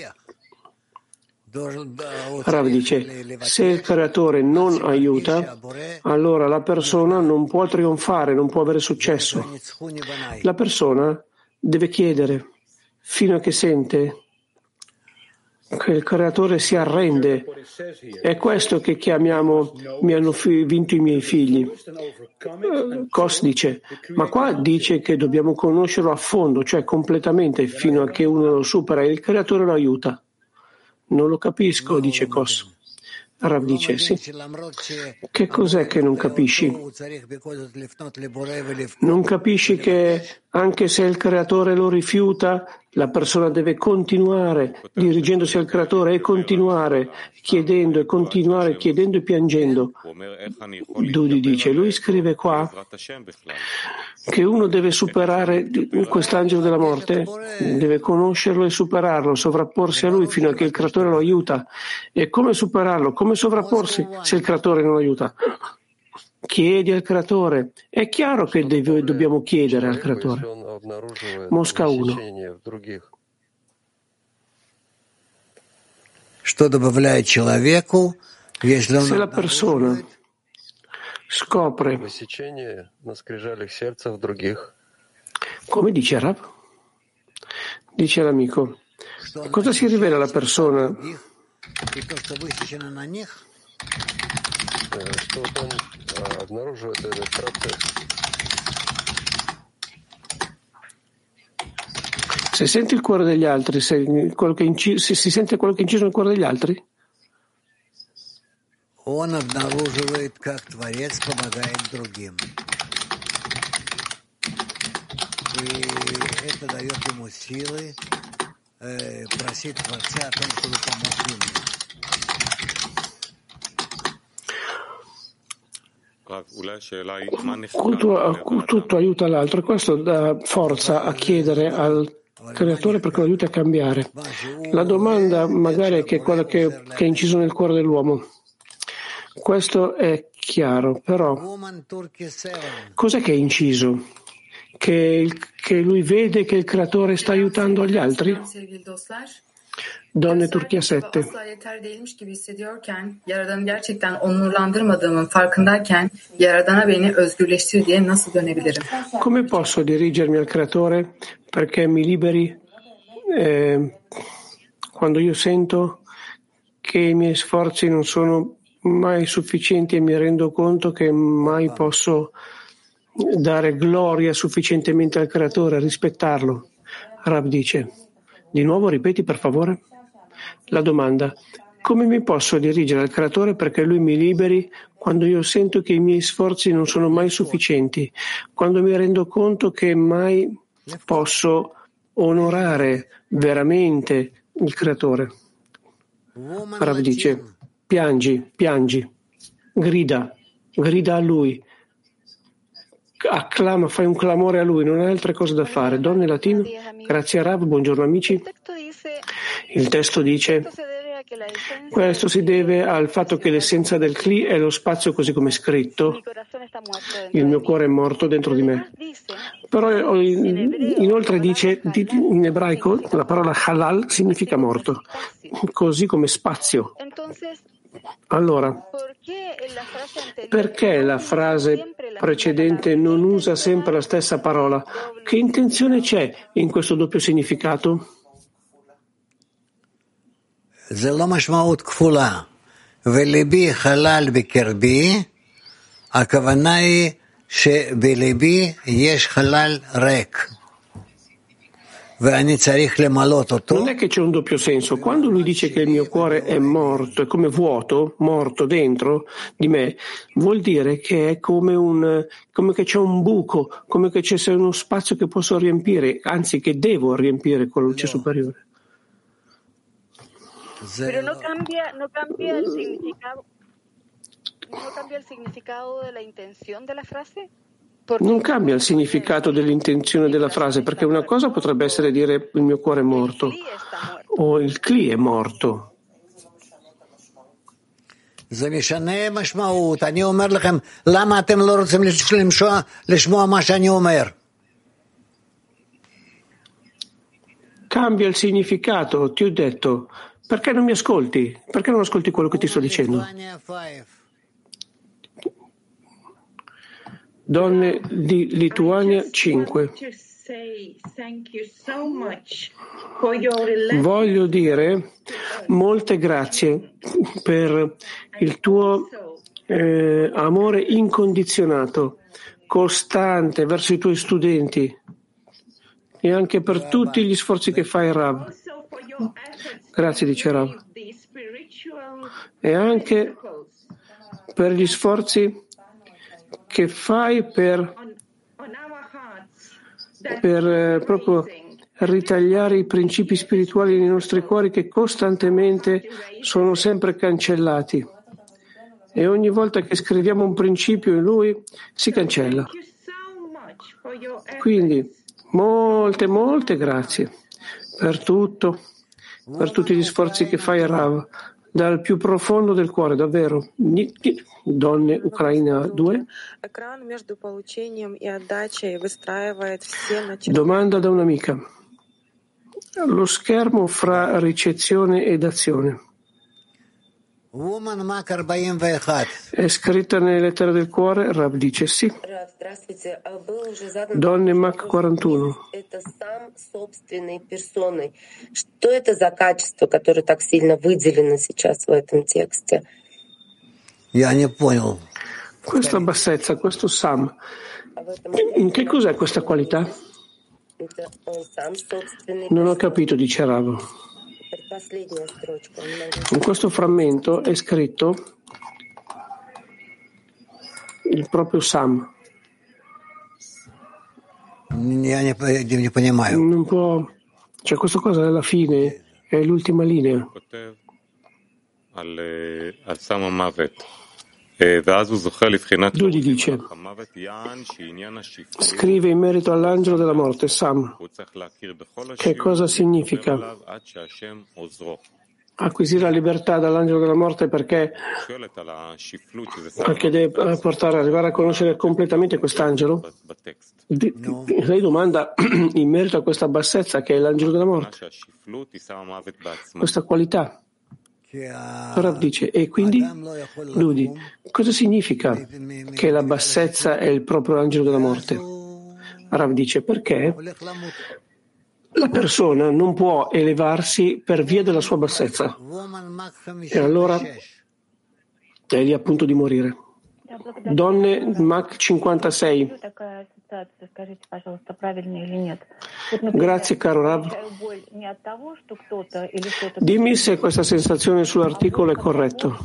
Rav dice, se il creatore non aiuta, allora la persona non può trionfare, non può avere successo. La persona deve chiedere fino a che sente che il creatore si arrende. È questo che chiamiamo mi hanno vinto i miei figli. Kos dice, ma qua dice che dobbiamo conoscerlo a fondo, cioè completamente, fino a che uno lo supera e il creatore lo aiuta. Non lo capisco, dice Kos. Rav dice, sì. Che cos'è che non capisci? Non capisci che anche se il creatore lo rifiuta, la persona deve continuare dirigendosi al creatore e continuare chiedendo e continuare chiedendo e piangendo. Dudi dice, lui scrive qua che uno deve superare quest'angelo della morte, deve conoscerlo e superarlo, sovrapporsi a lui fino a che il creatore lo aiuta. E come superarlo? Come sovrapporsi se il creatore non aiuta? Chiedi al creatore. È chiaro che deve, dobbiamo chiedere al creatore. Mosca uno. Se la persona scopre Come dice Rav? Dice l'amico, cosa si rivela alla persona? Se sente il cuore degli altri, se, quello che inci- se si sente quello che è inciso nel cuore degli altri? Он обнаруживает, как Творец помогает другим. И это дает ему силы э, просить Творца о том, чтобы помог ему. Tutto, tutto aiuta l'altro e questo dà forza a chiedere al Creatore perché lo aiuti a cambiare. La domanda magari è che è quella che, che è inciso nel cuore dell'uomo. Questo è chiaro, però cos'è che è inciso? Che, il, che lui vede che il Creatore sta aiutando gli altri? Donne Turchia sette. Asla yeter değilmiş gibi hissediyorken, Yaradan'ı gerçekten onurlandırmadığımın farkındayken, Yaradan'a beni özgürleştir diye nasıl dönebilirim? Come posso dirigermi al Creatore perché mi liberi eh, quando io sento che i miei sforzi non sono mai sufficienti e mi rendo conto che mai posso dare gloria sufficientemente al Creatore, rispettarlo? Rab dice, di nuovo ripeti per favore? La domanda, come mi posso dirigere al Creatore perché Lui mi liberi quando io sento che i miei sforzi non sono mai sufficienti, quando mi rendo conto che mai posso onorare veramente il Creatore? Rav dice, piangi, piangi, grida, grida a Lui, acclama, fai un clamore a Lui, non hai altre cose da fare. Donne latino, grazie a Rav, buongiorno amici. Il testo dice, questo si deve al fatto che l'essenza del Kli è lo spazio così come è scritto, il mio cuore è morto dentro di me. Però inoltre dice, in ebraico, la parola halal significa morto, così come spazio. Allora, perché la frase precedente non usa sempre la stessa parola? Che intenzione c'è in questo doppio significato? זה לא משמעות כפולה, וליבי חלל בקרבי, הכוונה היא שבליבי יש חלל ריק. Non è che c'è un doppio senso. Quando lui dice che il mio cuore è morto, è come vuoto, morto dentro di me, vuol dire che è come un, come che c'è un buco, come che c'è uno spazio che posso riempire, anzi che devo riempire con la luce superiore. Pero no cambia, no cambia el significado, no cambia el significado de la intención de la frase. Non cambia il significato dell'intenzione della frase, perché una cosa potrebbe essere dire il mio cuore è morto o il Kli è morto. זה משנה משמעות. אני אומר לכם, למה אתם לא רוצים לשמוע מה שאני אומר? Cambia il significato, ti ho detto. Perché non mi ascolti? Perché non ascolti quello che ti sto dicendo? Donne di Lituania cinque. Voglio dire molte grazie per il tuo eh, amore incondizionato, costante verso i tuoi studenti e anche per tutti gli sforzi che fai, Rav. Grazie, dice Rav. E anche per gli sforzi che fai per, per eh, proprio ritagliare i principi spirituali nei nostri cuori che costantemente sono sempre cancellati. E ogni volta che scriviamo un principio in lui si cancella. Quindi molte, molte grazie per tutto, per tutti gli sforzi che fai, Rav, dal più profondo del cuore, davvero. Donne Ucraina due. Domanda da un'amica. Lo schermo fra ricezione ed azione. È scritta nelle lettere del cuore? Rav dice sì. Donne Mach quarantuno. Что это за качество, которое так сильно выделено сейчас в этом тексте? Я не понял. Questa bassezza, questo Sam, che cos'è questa qualità? Non ho capito, dice Rav. In questo frammento è scritto il proprio Sam. Non può, cioè questa cosa è la fine, è l'ultima linea. Lui dice, scrive in merito all'angelo della morte, Sam. Che cosa significa? Acquisire la libertà dall'angelo della morte perché, perché deve portare, arrivare a conoscere completamente quest'angelo? Lei domanda in merito a questa bassezza che è l'angelo della morte, questa qualità. Rav dice, e quindi lui, cosa significa che la bassezza è il proprio angelo della morte? Rav dice, perché la persona non può elevarsi per via della sua bassezza e allora è lì a punto di morire. Donne Mach cinquantasei. Grazie caro Rav. Dimmi se questa sensazione sull'articolo è corretta.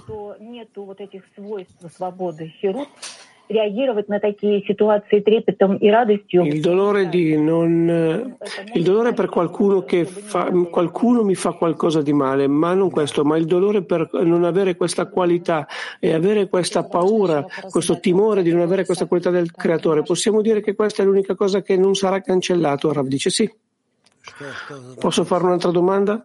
Il dolore di non il dolore per qualcuno che fa qualcuno mi fa qualcosa di male, ma non questo, ma il dolore per non avere questa qualità e avere questa paura, questo timore di non avere questa qualità del creatore. Possiamo dire che questa è l'unica cosa che non sarà cancellato? Rav dice sì. Posso fare un'altra domanda?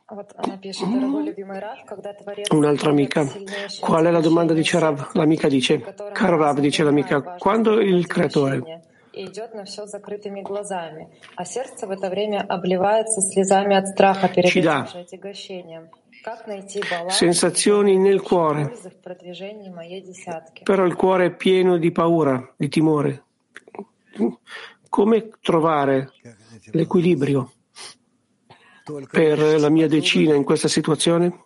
Un'altra amica. Qual è la domanda? Dice Rav. L'amica dice, caro Rav, dice l'amica, quando il creatore ci dà sensazioni nel cuore, però il cuore è pieno di paura, di timore, come trovare l'equilibrio per la mia decina in questa situazione?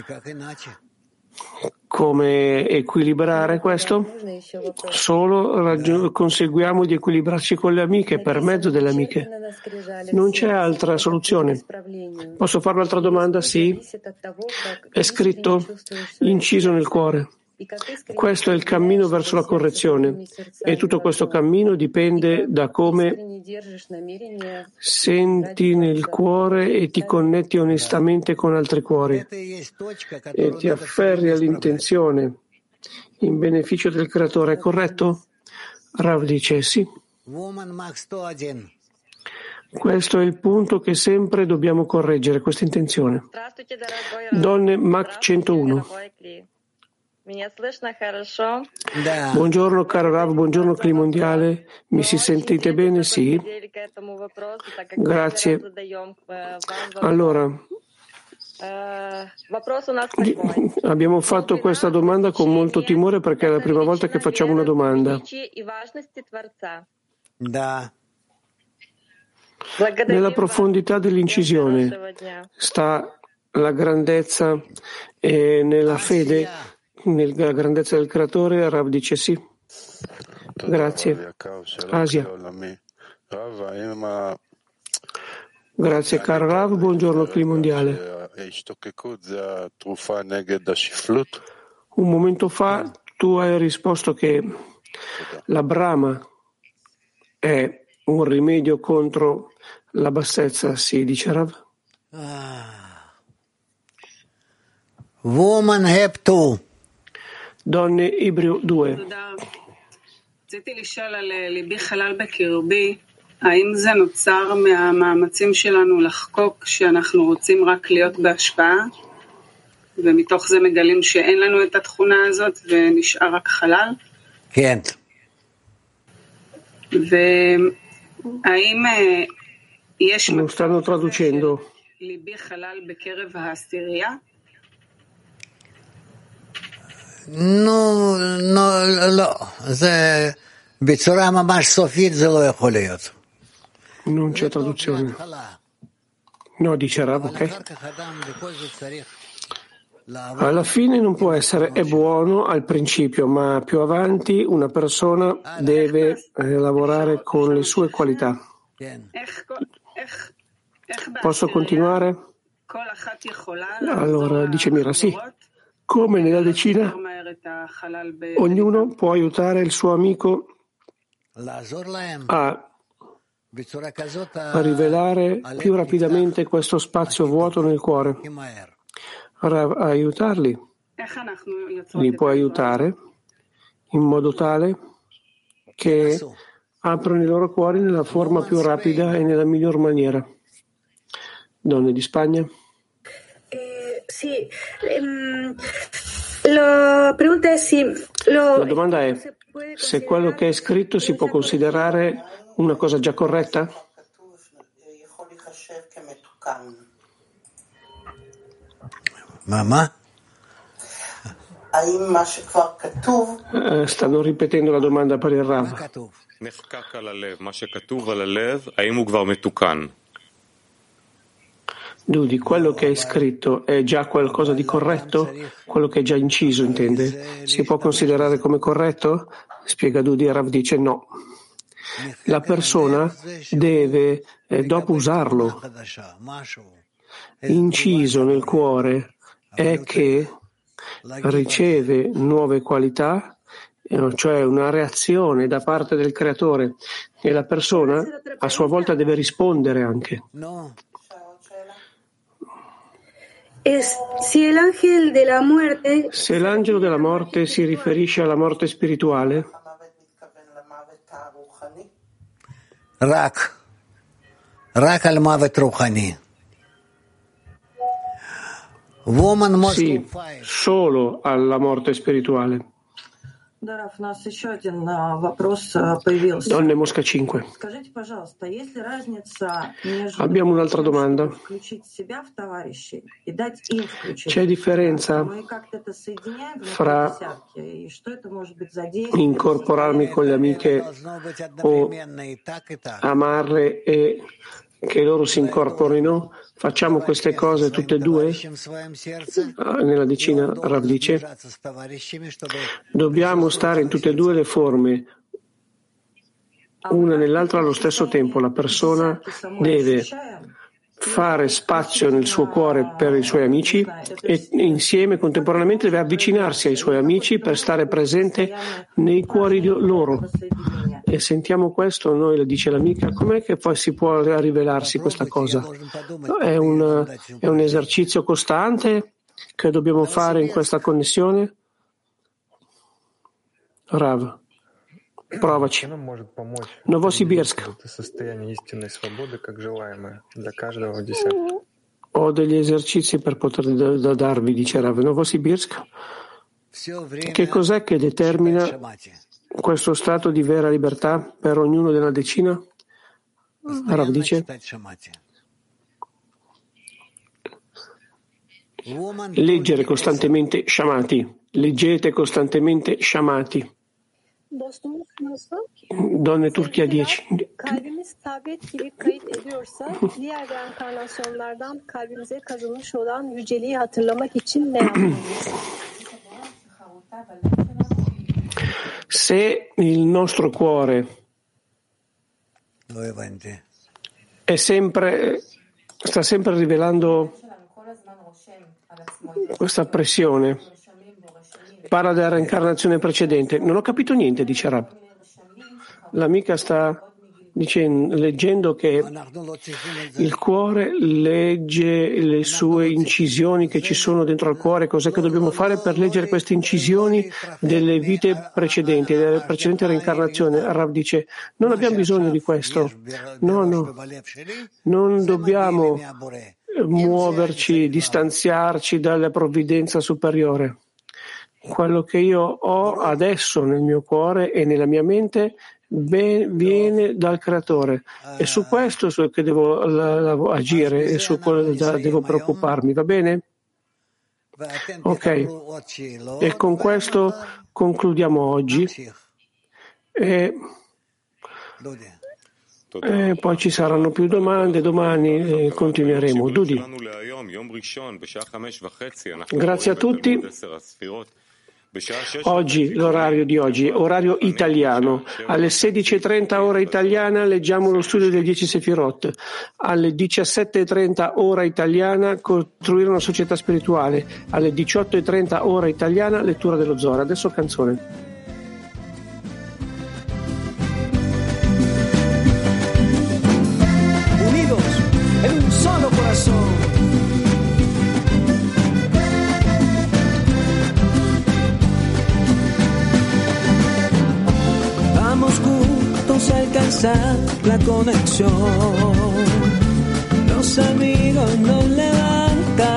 Come equilibrare questo? Solo raggi- conseguiamo di equilibrarci con le amiche, per mezzo delle amiche. Non c'è altra soluzione. Posso fare un'altra domanda? Sì. È scritto, inciso nel cuore. Questo è il cammino verso la correzione e tutto questo cammino dipende da come senti nel cuore e ti connetti onestamente con altri cuori e ti afferri all'intenzione in beneficio del creatore. È corretto? Rav dice sì. Questo è il punto che sempre dobbiamo correggere, questa intenzione. Donne Mach centouno. Buongiorno caro Rav, buongiorno Cli Mondiale, mi si sentite bene? Sì. Grazie. Allora, abbiamo fatto questa domanda con molto timore perché è la prima volta che facciamo una domanda. Nella profondità dell'incisione sta la grandezza e nella fede, nella grandezza del creatore. Rav dice sì. Grazie. Asia. Grazie caro Rav, buongiorno Cli Mondiale. Un momento fa tu hai risposto che la Brahma è un rimedio contro la bassezza, sì, dice Rav. Woman have to. Donne Ibreo due. רציתי לשאול על ליבי חלל בקרבי, האם זה נוצר מהמאמצים שלנו לחקוק שאנחנו רוצים רק להיות בהשפעה, ומתוך זה מגלים שאין לנו את התכונה הזאת ונשאר רק חלל? כן. והאם יש Lo stanno traducendo. ליבי חלל בקרב העשירייה? נו, לא, זה בצורה ממש סופית זה לא יכול להיות. Non c'è traduzione. No, dice Rav, ok? Alla fine non può essere, è buono al principio, ma più avanti una persona deve eh, lavorare con le sue qualità. Posso continuare? Allora, dice Mira, sì. Come nella decina, ognuno può aiutare il suo amico a a rivelare più rapidamente questo spazio vuoto nel cuore. A aiutarli, li può aiutare in modo tale che aprono i loro cuori nella forma più rapida e nella miglior maniera. Donne di Spagna? Eh, sì, ehm, la pregunta è sì. Lo, La domanda è se quello che è scritto si può considerare una cosa già corretta? Mamma? Eh, stanno ripetendo la domanda per il Rav. Dudi, quello che è scritto è già qualcosa di corretto? Quello che è già inciso, intende? Si può considerare come corretto? Spiega Dudi e Rav dice no. La persona deve, eh, dopo usarlo, inciso nel cuore, è che riceve nuove qualità, cioè una reazione da parte del creatore, e la persona a sua volta deve rispondere anche. Se l'angelo della morte, se l'angelo della morte si riferisce alla morte spirituale, Rak, Rak al Mavet Ruchani. Sì, solo alla morte spirituale. Donne Mosca cinque. Abbiamo un'altra domanda. C'è differenza fra incorporarmi con le amiche o amarle e che loro si incorporino? Facciamo queste cose tutte e due? Nella decina Rav dice dobbiamo stare in tutte e due le forme, una nell'altra allo stesso tempo. La persona deve fare spazio nel suo cuore per i suoi amici e insieme contemporaneamente deve avvicinarsi ai suoi amici per stare presente nei cuori di loro. E sentiamo questo, noi lo dice l'amica, com'è che poi si può rivelarsi questa cosa? È un, è un esercizio costante che dobbiamo fare in questa connessione? Rav, provaci. Novosibirsk. Ho degli esercizi per poter da, da darvi, dice Rav. Novosibirsk. Che cos'è che determina questo stato di vera libertà per ognuno della decina? Rav dice leggere costantemente Shamati, leggete costantemente Shamati. Donne Turchia dieci. Kalbimiz tablet gibi kayıt ediyorsa diğer reenkarnasyonlardan kalbimize kazınmış olan yüceliği hatırlamak için ne yapmalıyız? Se il nostro cuore è sempre, sta sempre rivelando questa pressione, parla della reincarnazione precedente. Non ho capito niente, dice Rab. L'amica sta dicendo, leggendo che il cuore legge le sue incisioni che ci sono dentro al cuore. Cos'è che dobbiamo fare per leggere queste incisioni delle vite precedenti, delle precedenti reincarnazioni? Rav dice, non abbiamo bisogno di questo. No, no. Non dobbiamo muoverci, distanziarci dalla provvidenza superiore. Quello che io ho adesso nel mio cuore e nella mia mente viene dal creatore, e su questo è che devo la, la, agire e su quello da, devo preoccuparmi, va bene? Ok, e con questo concludiamo oggi. E, e poi ci saranno più domande, domani e continueremo. Dudi. Grazie a tutti. Oggi, l'orario di oggi, orario italiano. Alle sedici e trenta ora italiana leggiamo lo studio del dieci Sefirot. Alle diciassette e trenta ora italiana costruire una società spirituale. Alle diciotto e trenta ora italiana lettura dello Zohar. Adesso canzone. Unidos en un solo corazón. Juntos a alcanzar la conexión. Los amigos nos levantan.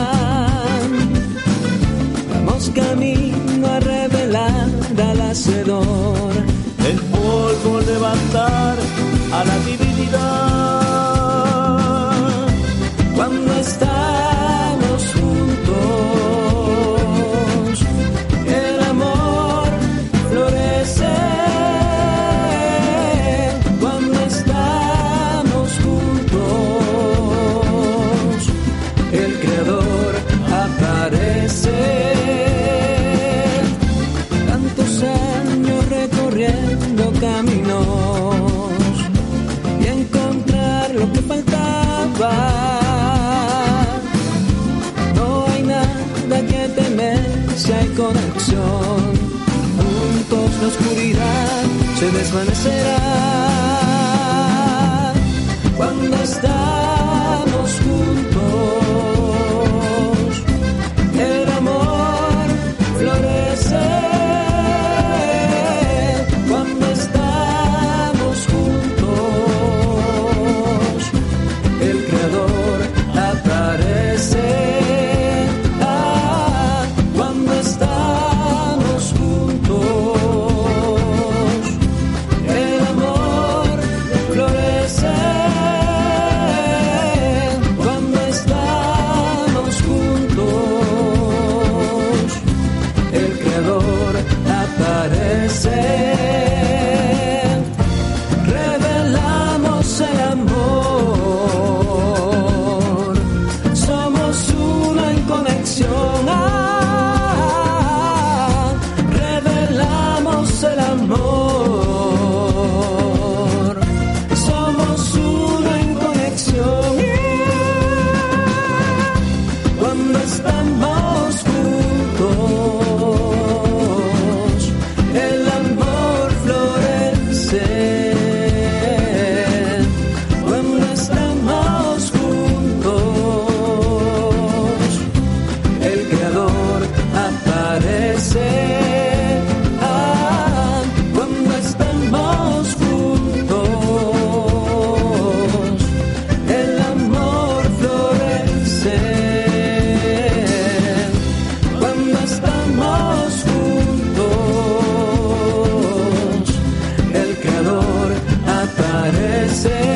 Vamos camino a revelar al hacedor. El polvo levantar a la divinidad. Cuando estamos juntos, el amor florece. Tantos años recorriendo caminos y encontrar lo que faltaba. No hay nada que temer si hay conexión. Juntos la oscuridad se desvanecerá cuando estamos juntos. El amor florece cuando estamos juntos. El Creador aparece ah, cuando estamos juntos. El amor florece cuando estamos juntos. El Creador aparece. Revelamos el amor. Somos uno en conexión. Ah, revelamos el amor. Somos uno en conexión. Cuando estamos juntos, el amor florece. Cuando estamos juntos, el Creador aparece. Ah, cuando estamos juntos, el amor florece. Cuando estamos juntos, el Creador aparece.